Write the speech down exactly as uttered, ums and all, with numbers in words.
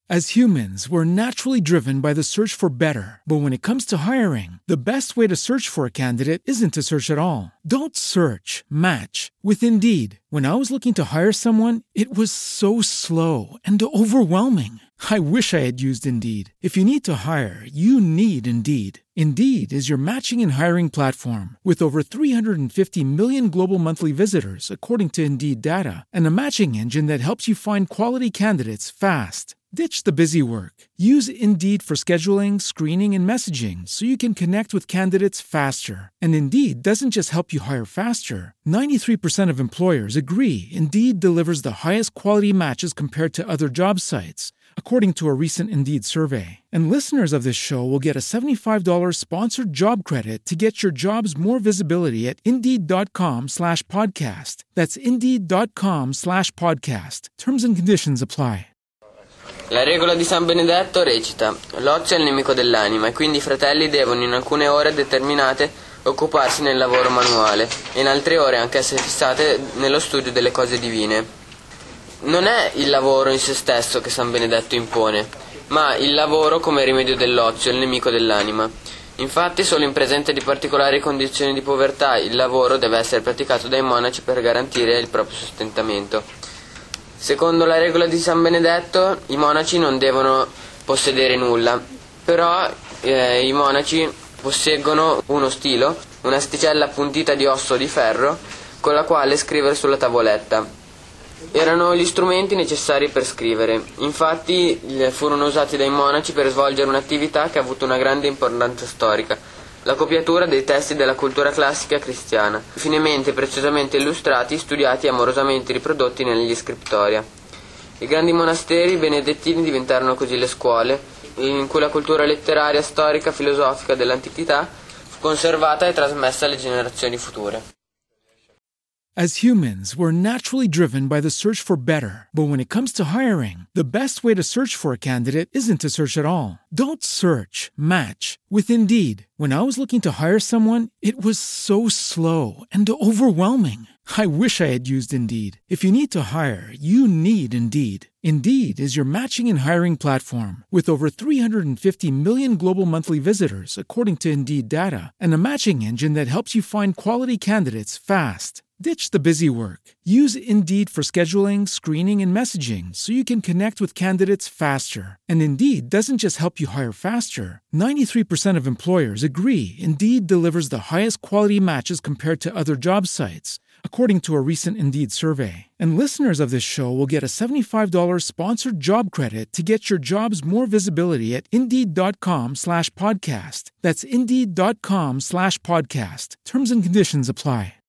As humans, we're naturally driven by the search for better. But when it comes to hiring, the best way to search for a candidate isn't to search at all. Don't search, match with Indeed. When I was looking to hire someone, it was so slow and overwhelming. I wish I had used Indeed. If you need to hire, you need Indeed. Indeed is your matching and hiring platform with over three hundred fifty million global monthly visitors, according to Indeed data, and a matching engine that helps you find quality candidates fast. Ditch the busy work. Use Indeed for scheduling, screening, and messaging so you can connect with candidates faster. And Indeed doesn't just help you hire faster. ninety-three percent of employers agree Indeed delivers the highest quality matches compared to other job sites, according to a recent Indeed survey. And listeners of this show will get a seventy-five dollars sponsored job credit to get your jobs more visibility at Indeed.com slash podcast. That's Indeed.com slash podcast. Terms and conditions apply. La regola di San Benedetto recita: l'ozio è il nemico dell'anima, e quindi i fratelli devono in alcune ore determinate occuparsi nel lavoro manuale e in altre ore anch'esse fissate nello studio delle cose divine. Non è il lavoro in se stesso che San Benedetto impone, ma il lavoro come rimedio dell'ozio, il nemico dell'anima. Infatti solo in presenza di particolari condizioni di povertà il lavoro deve essere praticato dai monaci per garantire il proprio sostentamento. Secondo la regola di San Benedetto i monaci non devono possedere nulla, però eh, i monaci posseggono uno stilo, un'asticella appuntita di osso di ferro con la quale scrivere sulla tavoletta. Erano gli strumenti necessari per scrivere, infatti furono usati dai monaci per svolgere un'attività che ha avuto una grande importanza storica: la copiatura dei testi della cultura classica cristiana, finemente e precisamente illustrati, studiati e amorosamente riprodotti negli scriptoria. I grandi monasteri benedettini diventarono così le scuole, in cui la cultura letteraria, storica, filosofica dell'antichità fu conservata e trasmessa alle generazioni future. As humans, we're naturally driven by the search for better. But when it comes to hiring, the best way to search for a candidate isn't to search at all. Don't search, match with Indeed. When I was looking to hire someone, it was so slow and overwhelming. I wish I had used Indeed. If you need to hire, you need Indeed. Indeed is your matching and hiring platform with over three hundred fifty million global monthly visitors, according to Indeed data, and a matching engine that helps you find quality candidates fast. Ditch the busy work. Use Indeed for scheduling, screening, and messaging so you can connect with candidates faster. And Indeed doesn't just help you hire faster. ninety-three percent of employers agree Indeed delivers the highest quality matches compared to other job sites, according to a recent Indeed survey. And listeners of this show will get a seventy-five dollars sponsored job credit to get your jobs more visibility at Indeed.com slash podcast. That's Indeed.com slash podcast. Terms and conditions apply.